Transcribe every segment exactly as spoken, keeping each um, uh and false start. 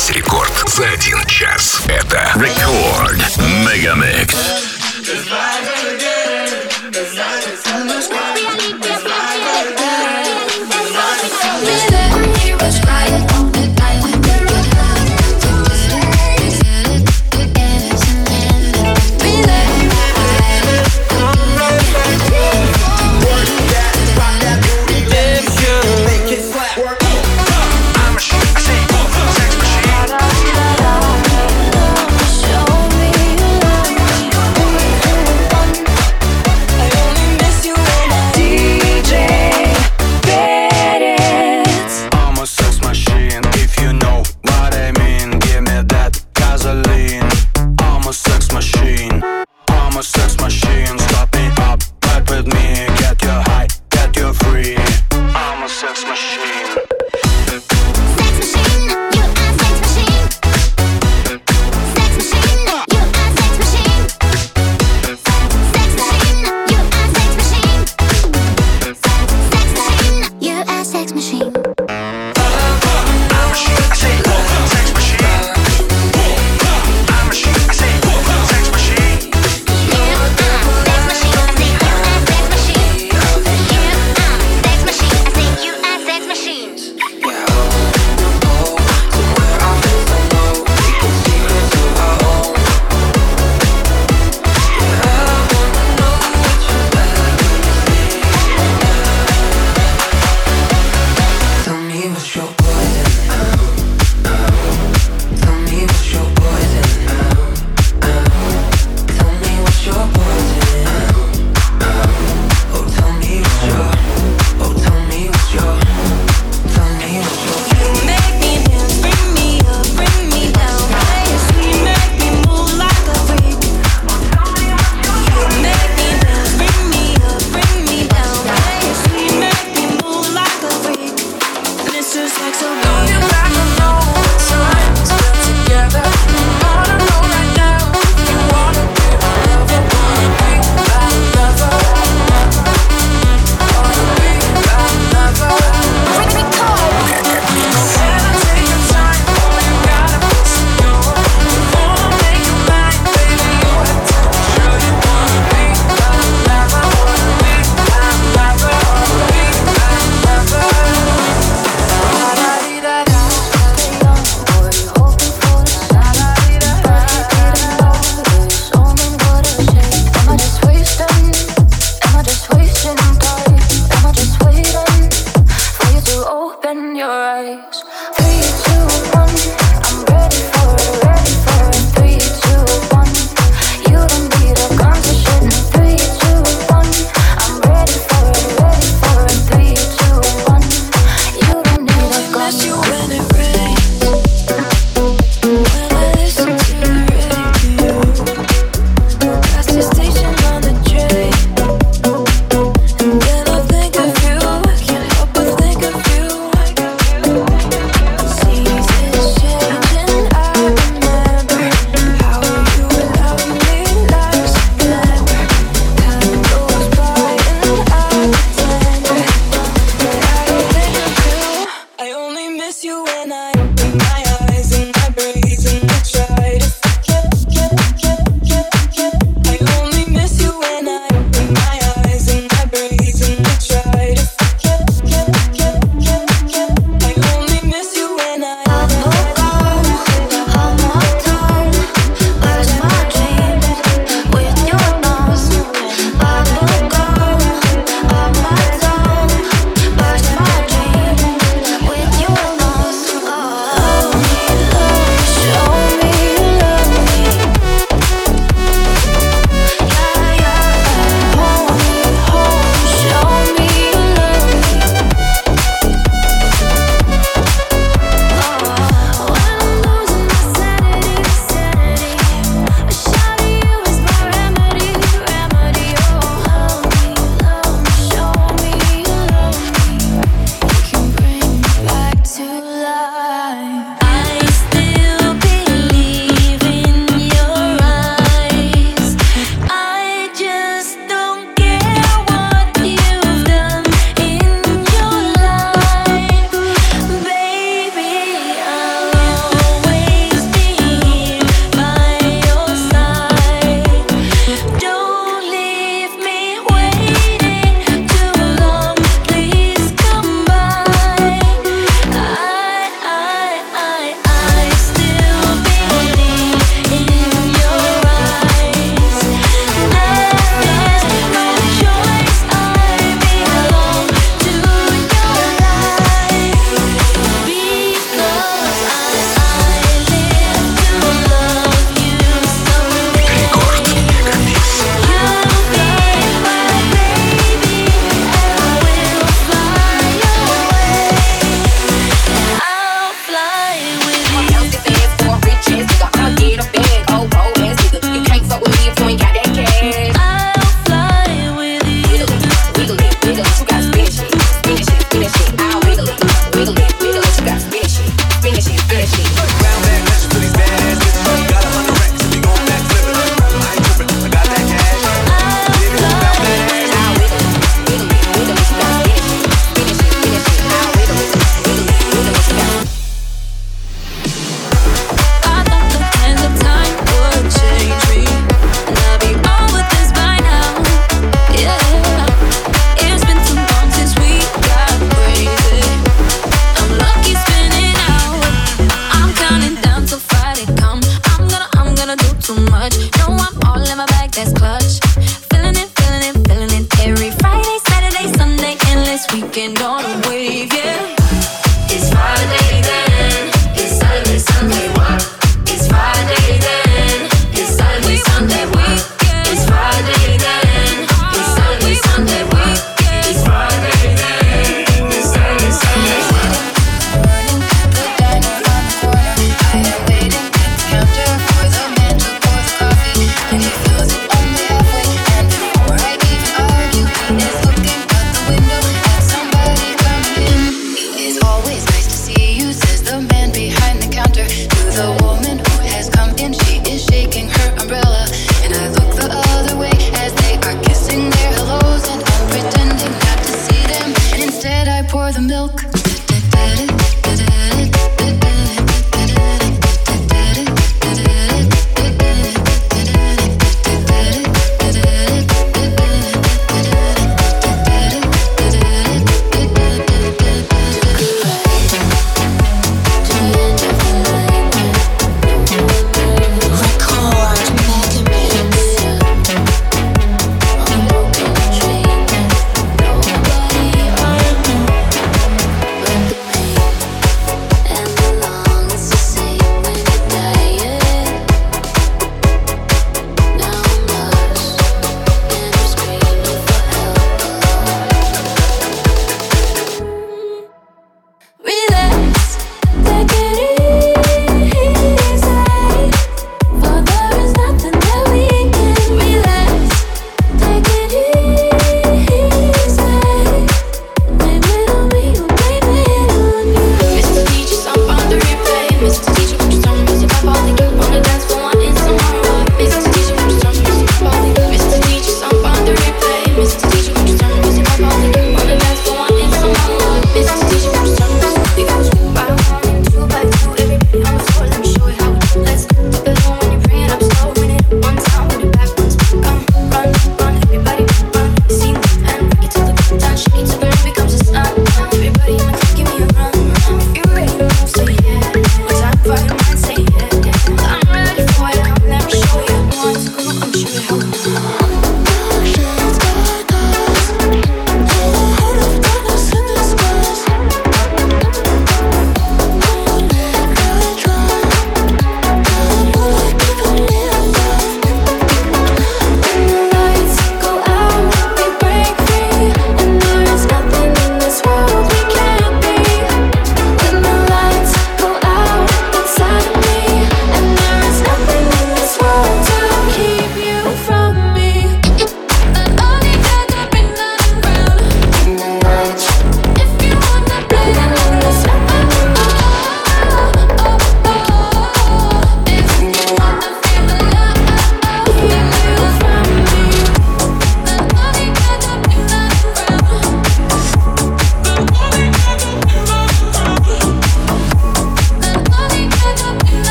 Весь рекорд за один час. Это Рекорд Мегамикс.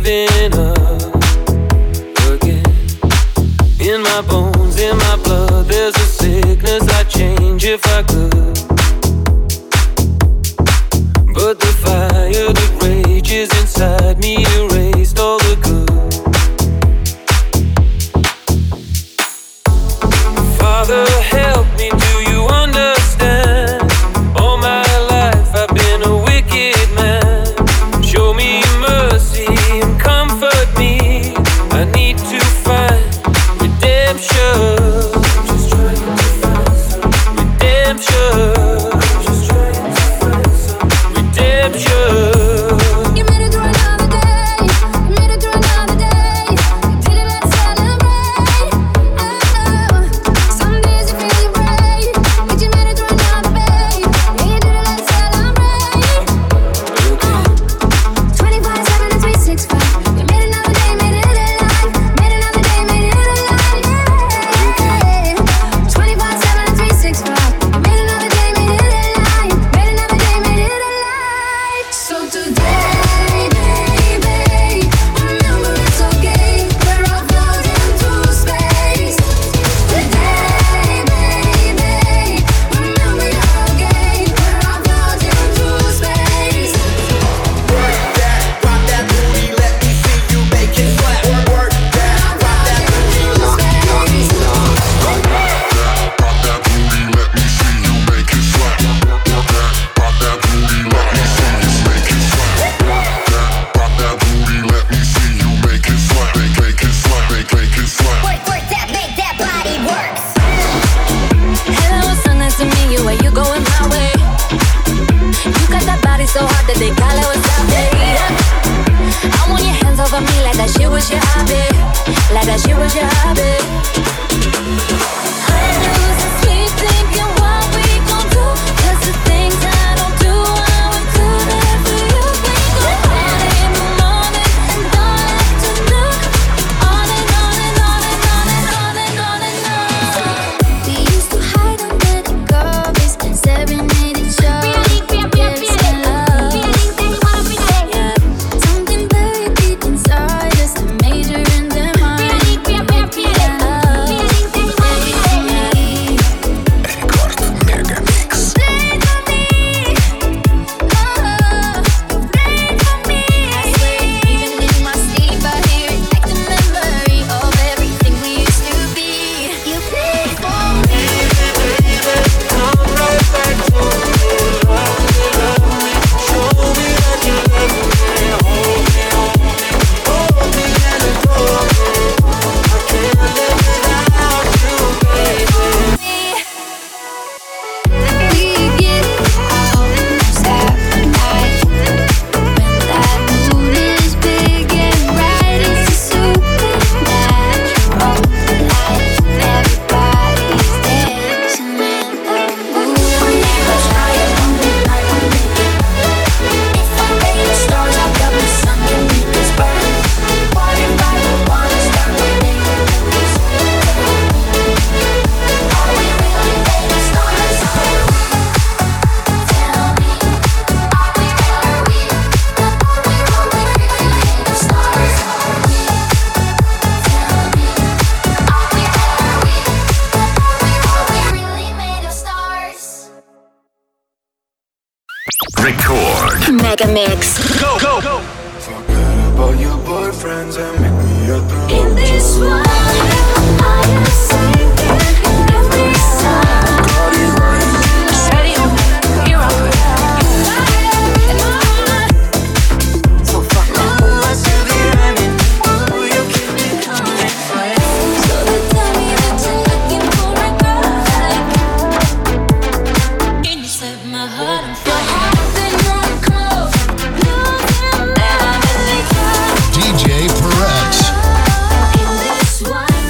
giving up again. In my bones, in my blood, there's a sickness I'd change if I could. But the fire that rages inside me erased all the good. Father, help me, do you understand? All my life I've been a wicked man. Show me mercy and comfort me. I need to find redemption. Just trying to find some redemption. Just trying to find some redemption. Record. Mega Mix. Go, go, go. Forget about your boyfriends and make me your throne. In this one, I am sinking every song. Ready, hero. So fuck that. So they tell me that you're looking for a girl. Can you set my heart on fire? D J Perez. In this one.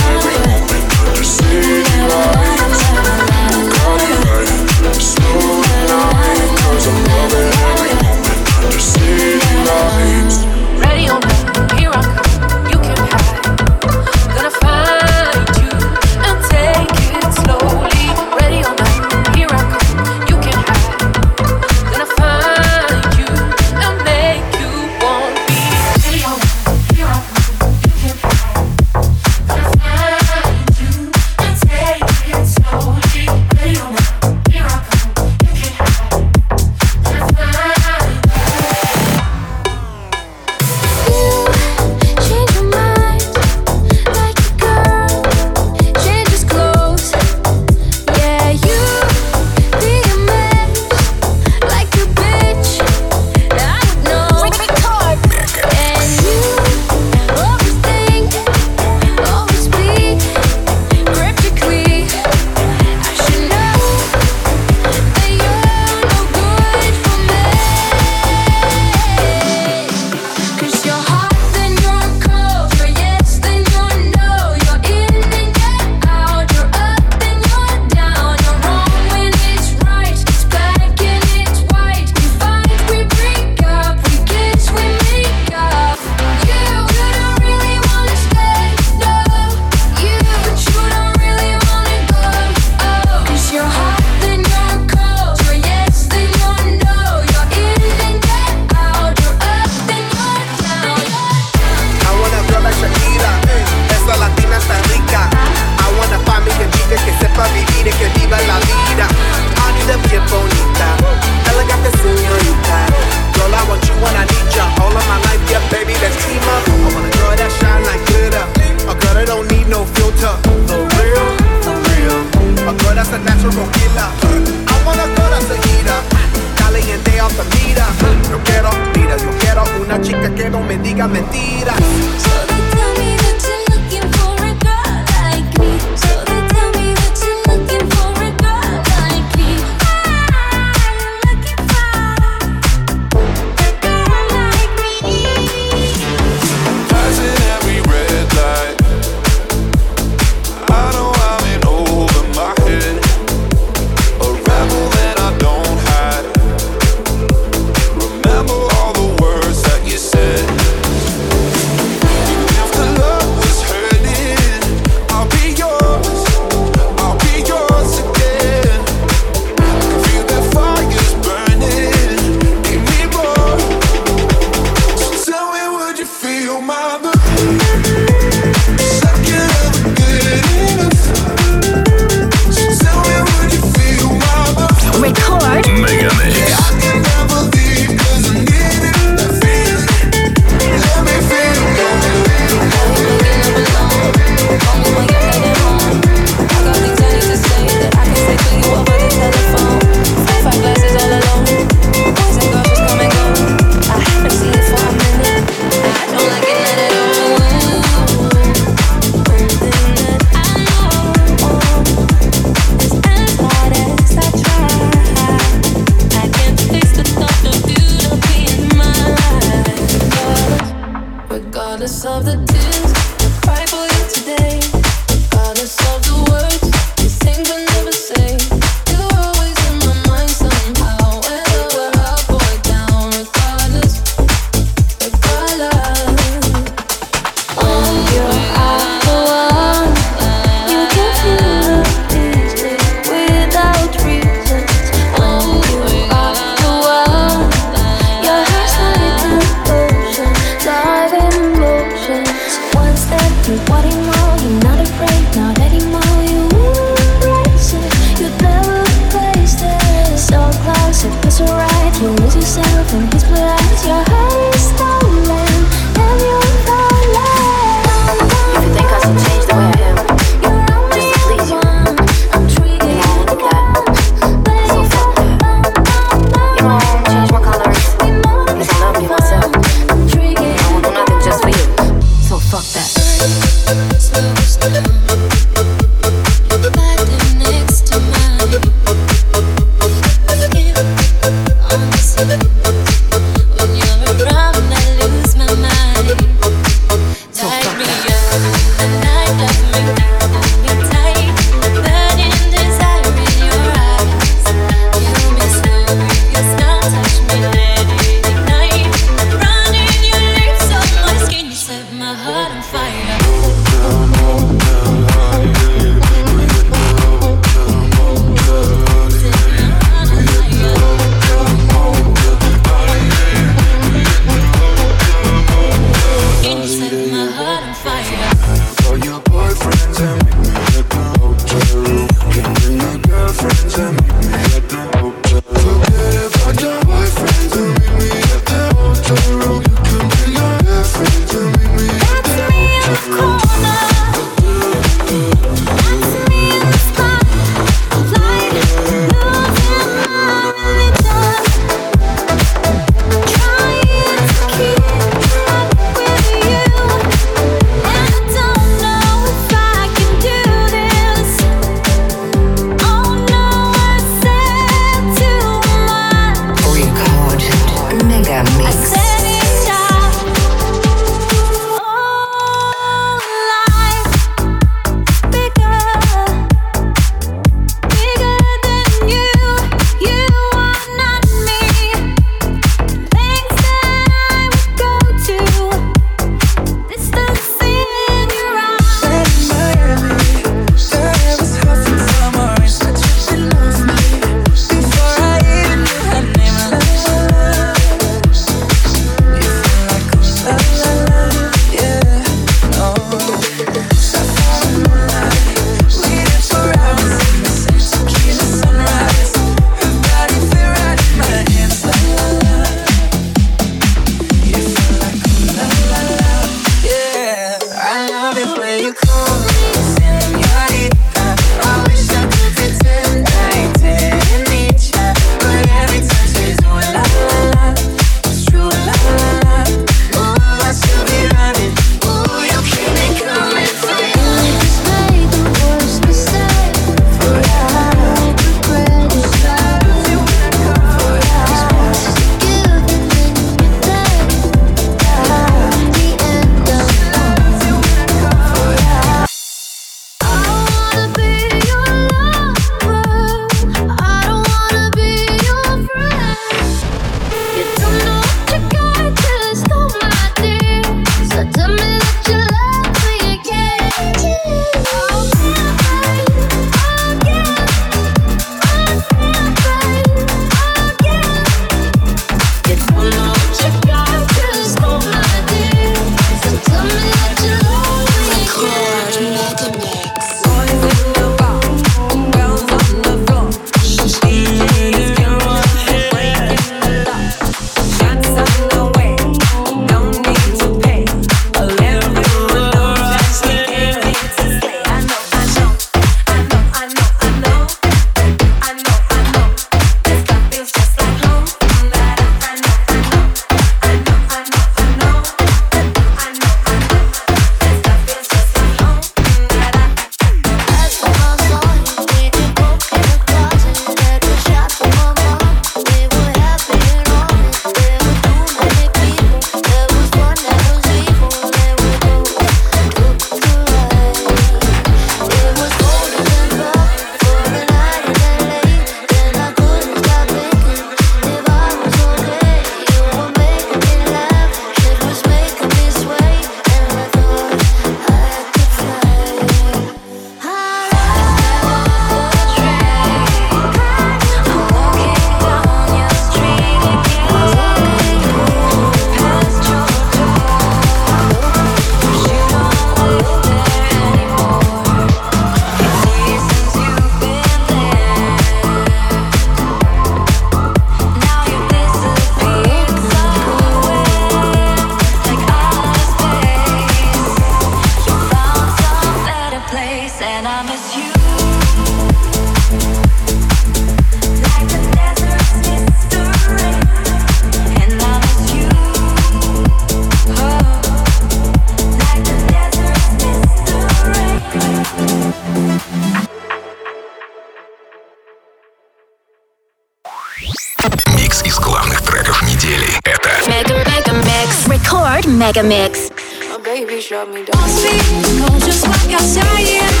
Mega Mix. My baby shut me down. Go just like I say it.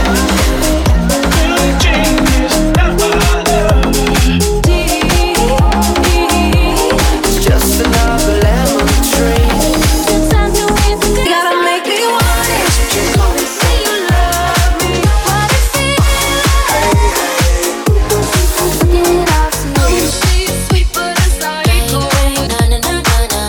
It's just another lemon tree. You gotta make me want it. Say you love me. What it feels. Looking it out to you. She's sweet but it's like na na na na na.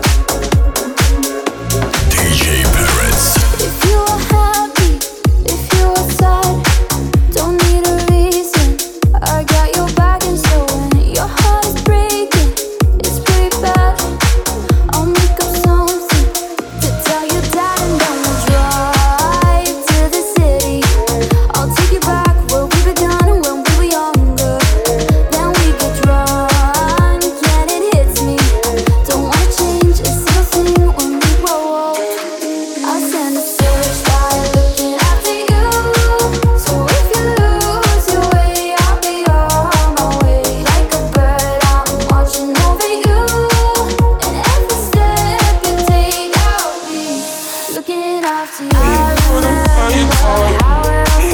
D J Perez. If you are happy, if you are sad, don't need a reason. I got your back, and so when your heart is breaking, it's pretty bad. I'll make up something to tell your dad, and then we'll drive to the city. I'll take you back where we began when we were younger. Then we get drunk, and it hits me. Don't wanna change a single thing when we grow old. I send a searchlight looking after you. So if you lose your way, I'll be on my way. Like a bird, I'm watching over you. And every step you take, I'll be looking after you. I remember how else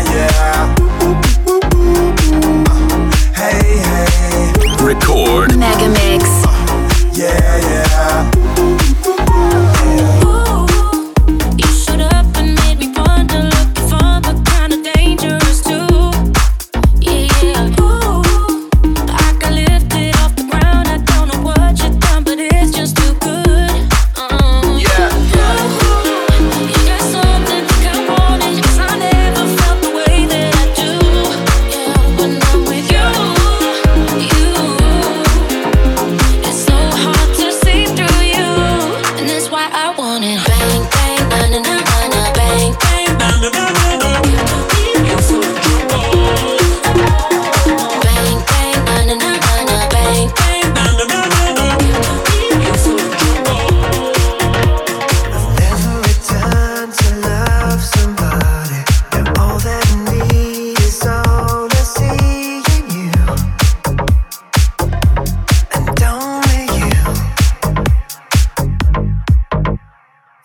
Record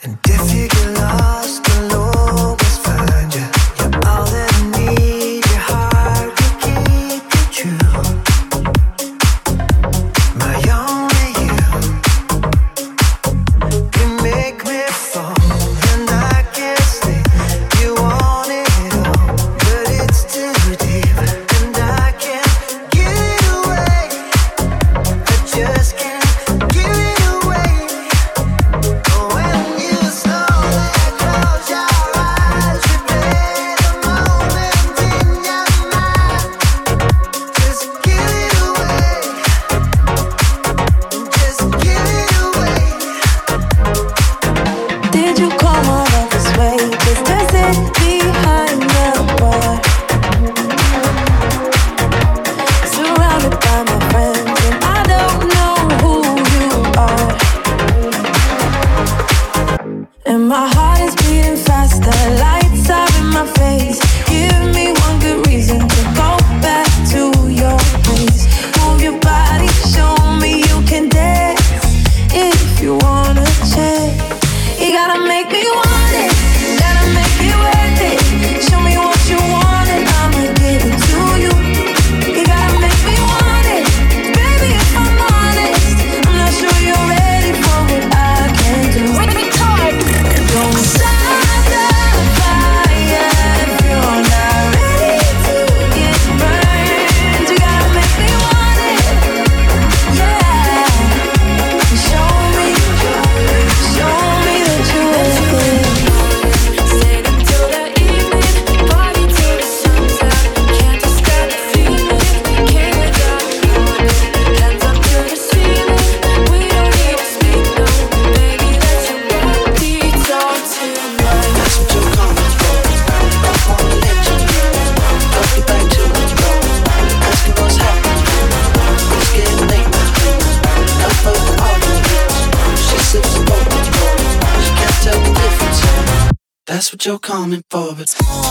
That's what you're coming for, but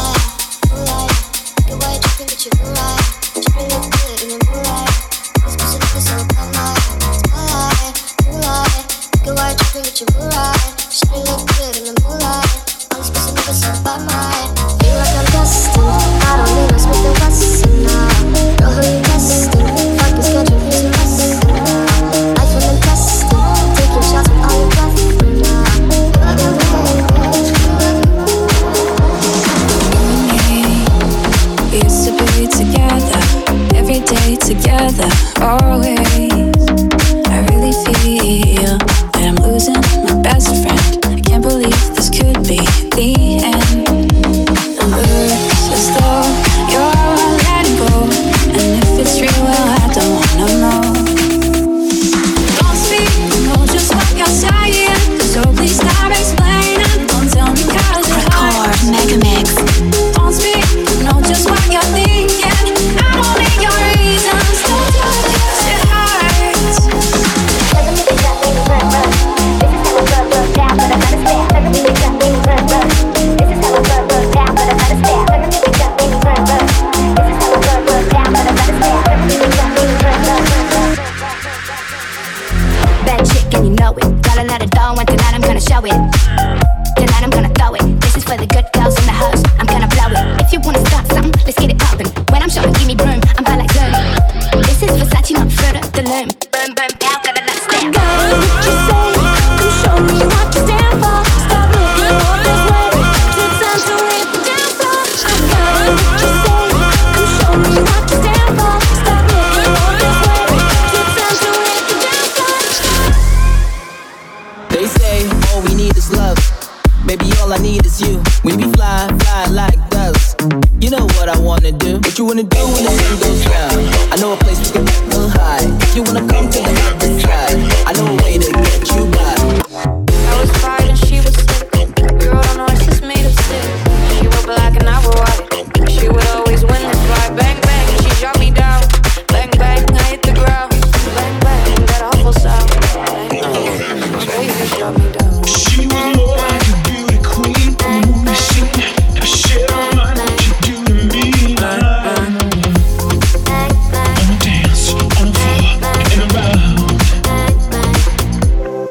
together, always. I really feel that I'm losing my best friend. I can't believe this could be the end. It looks as though you're letting go, and if it's real, well, I don't wanna know. Don't speak, know just what you're saying, so please stop explaining. Don't tell me 'cause it hurts. Record Mega Mix. Don't speak, know just what you're thinking. I don't need your reasons. Don't tell me 'cause it hurts. Doesn't mean that we run, run. This is how I run, run down, but I understand. Doesn't mean that we run, run. This is how I run, run down, but I understand. Doesn't mean that we run, run. This is how I run, run down, but I understand. Doesn't mean that we run, run, run. Bad chick and you know it. Gotta let it go, and tonight I'm gonna show it. Tonight I'm gonna throw it. This is for the good girls in the house. I'm gonna blow it. If you wanna start something, let's get it poppin'. When I'm showing, give me room. I'm by like boom. This is Versace, not Fruit of the Loom. Boom, boom, now gotta let it stand. Girl, what you say? Come show me what you stand for. Stop looking all this way. It's time to hit the dance floor. Girl, what you say? Come show me what you stand for. Stop looking all this way. It's time to hit the dance floor. They say all we need is love. Baby, all I need is you. When we fly, fly like doves. You know what I wanna do. What you wanna do when the sun goes down? I know a place we can get real high. If you wanna come to the other side, I know a way to get you by. I was fired and she was sick. We rode on horses made of stick. She was black and I was white. She would always win this fight. Bang, bang, she shot me down. Bang, bang, I hit the ground. Bang, bang, that awful sound. Bang, bang, baby shot me down. She was more like a beauty queen from a movie scene. Now shit, I don't mind what you do to me. On the dance, on the floor, and around.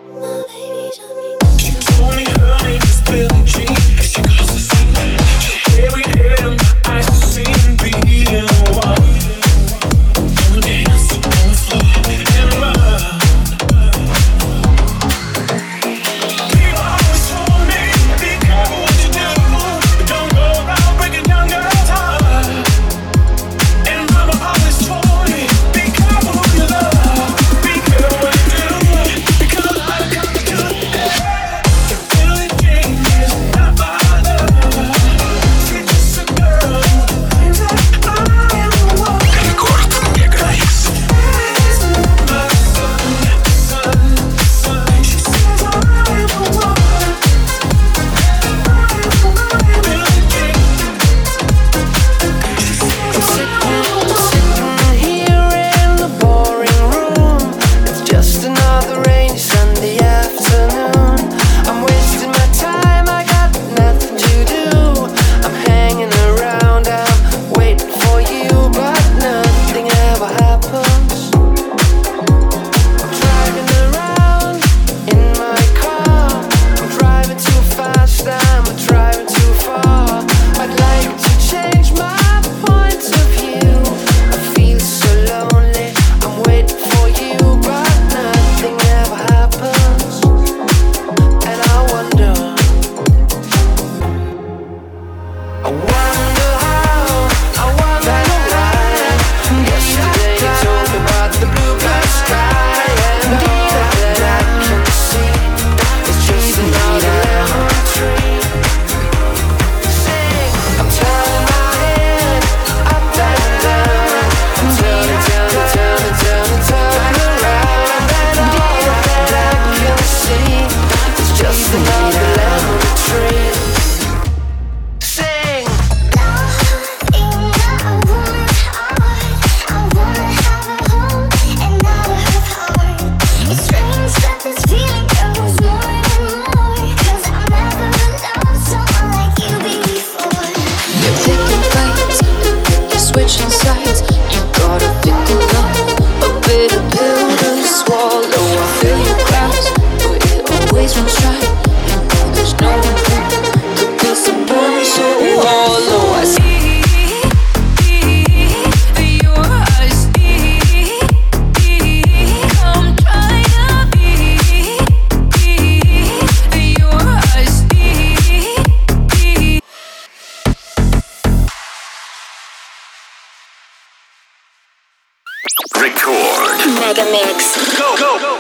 Mega Mix. Go, go, go.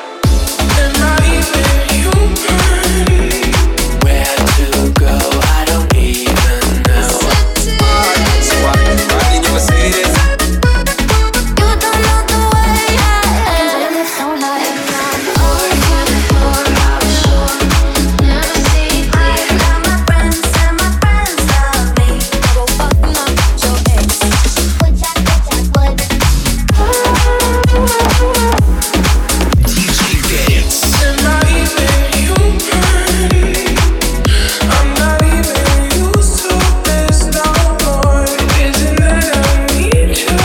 Where to go, I don't even know. Riding your Mercedes. You don't know the way I live so high. Or never see. I love my friends and my friends love me. Go fuck up your ex. Would ya, would ya, would. D J Dance. And not even you, I'm not even used to this no more. Isn't that I need you?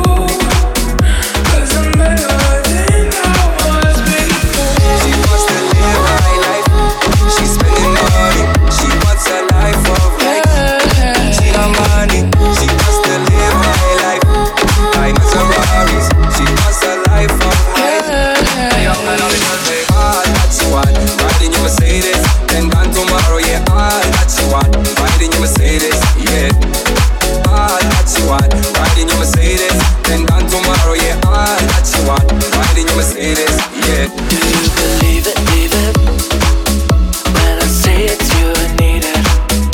Cause I'm better than I was before. She wants to live high life. She's spending money. She wants a life of life. She got money. She wants to live high life. Diamonds and Ferraris. She wants a life of life. Young and all because they all that she want. Riding your Mercedes. Then gone tomorrow, yeah, all that she want. Riding your Mercedes, yeah. All that she want. Riding your Mercedes. Then gone tomorrow, yeah, all that she want. Riding your Mercedes, yeah. Do you believe it, leave it? When I say it's you, I need it.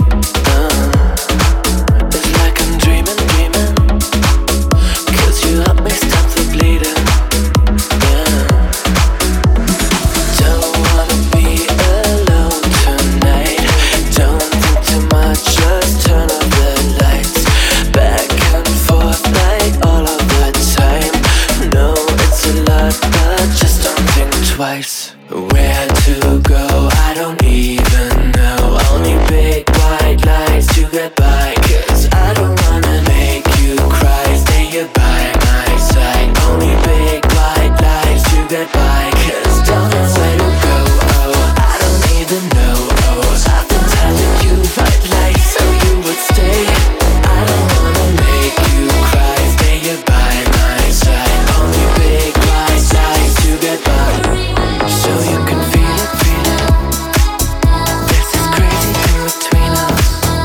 uh, It's like I'm dreaming, dreaming. Cause you help me stop the bleeding. Yeah. Don't wanna be alone tonight. Don't think too much, just turn off the lights. Back and forth like all of the time. No, it's a lot, but just don't think twice. Where to go, I don't even know. Only big white lights to get by. Cause I don't wanna make you cry. Stay here by my side. Only big white lights to get by. Cause don't know where to go, oh, I don't even know, oh. I've been telling you white lights so you would stay. I don't wanna make you cry. Stay here by my side. Only big white lights to get by. So you can feel it, feel it. This is crazy thing between us.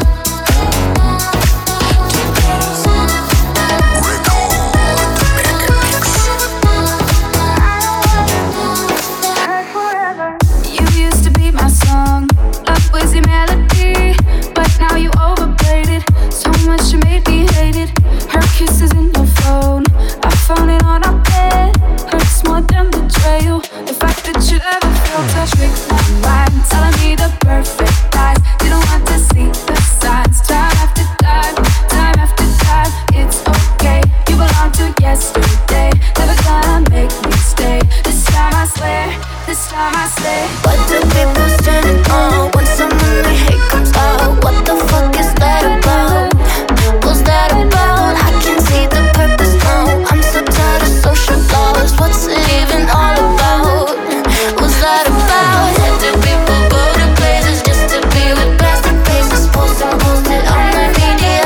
You used to be my song, love was your melody, but now you overplayed it. So much you made me hate it. Her kisses in your phone, I found it on our bed. Hurts more than betrayal. The fact that you ever felt a trick my mind, telling me the perfect lies. You don't want to see the signs. Time after time, time after time. It's okay, you belong to yesterday. Never gonna make me stay. This time I swear, this time I say. What do people stand on when someone they hate comes out? What the fuck is that about? What's that about? I can see the purpose now. I'm so tired of social laws. What's it even all about? What's that about? What do people go to places just to be with plastic faces? Post and post it on the media.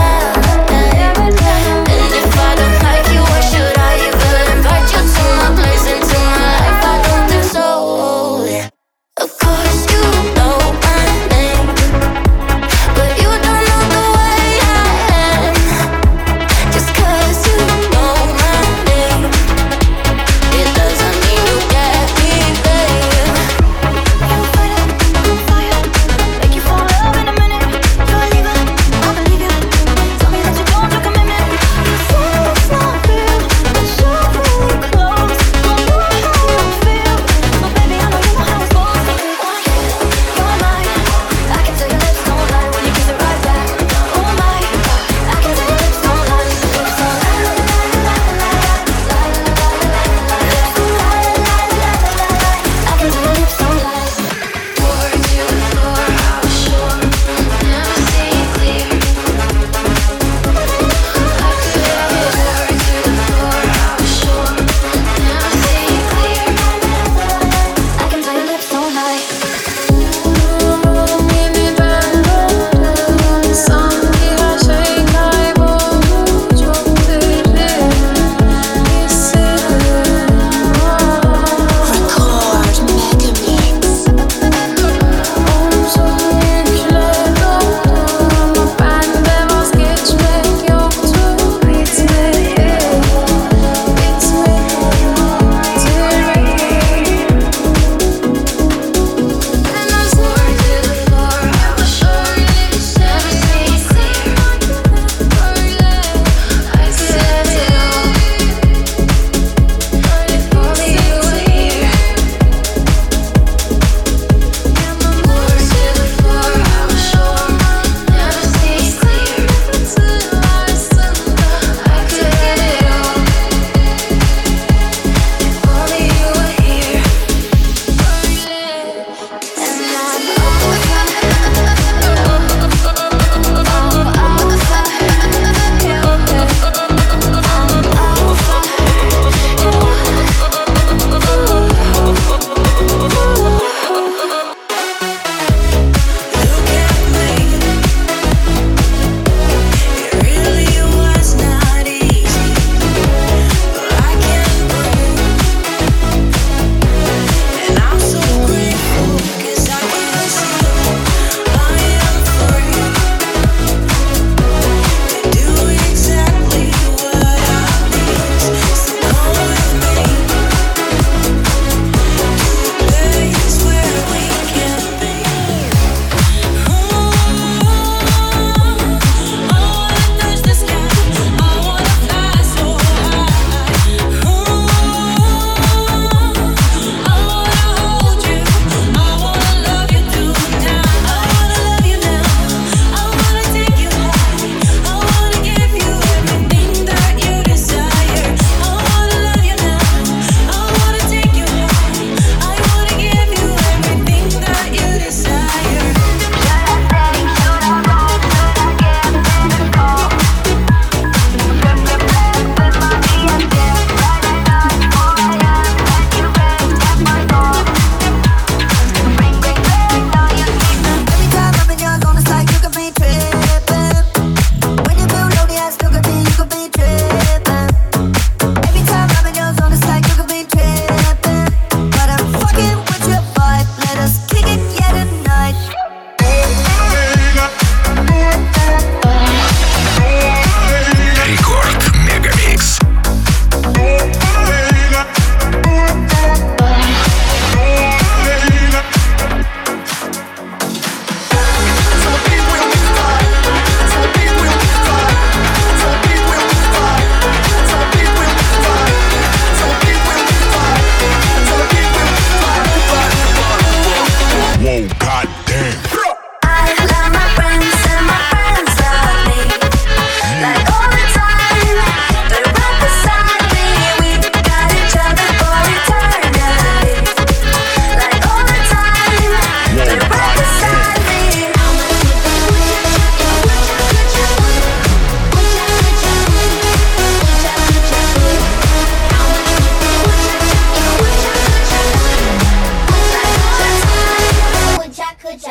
And if I don't like you, why should I even invite you to my place, into my life? I don't think so. Of course you know my name.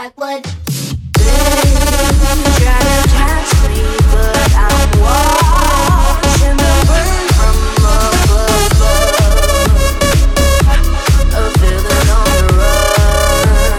Jackwood. Try to catch me, but I'm watching the burn from above. A feeling on the run.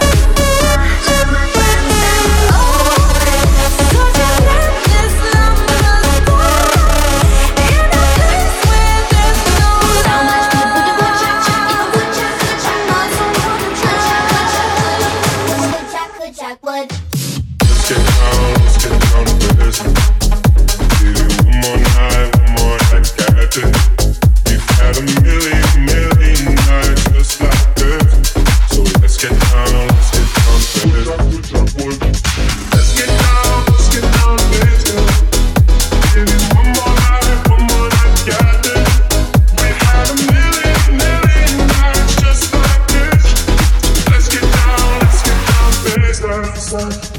Oh, such a reckless number squad in a place where there's no So much love. people do good jack, jack, you good jack, good jack, not so good jack, good jack, good Jackwood. Let's get down, let's get down to business. Give it one more night, one more night, got it. We've had a million, million nights just like this. So let's get down, let's get down to business. Let's get down, let's get down to business. Give it one more night, one more night, got it. We've had a million, million nights just like this. Let's get down, let's get down to business.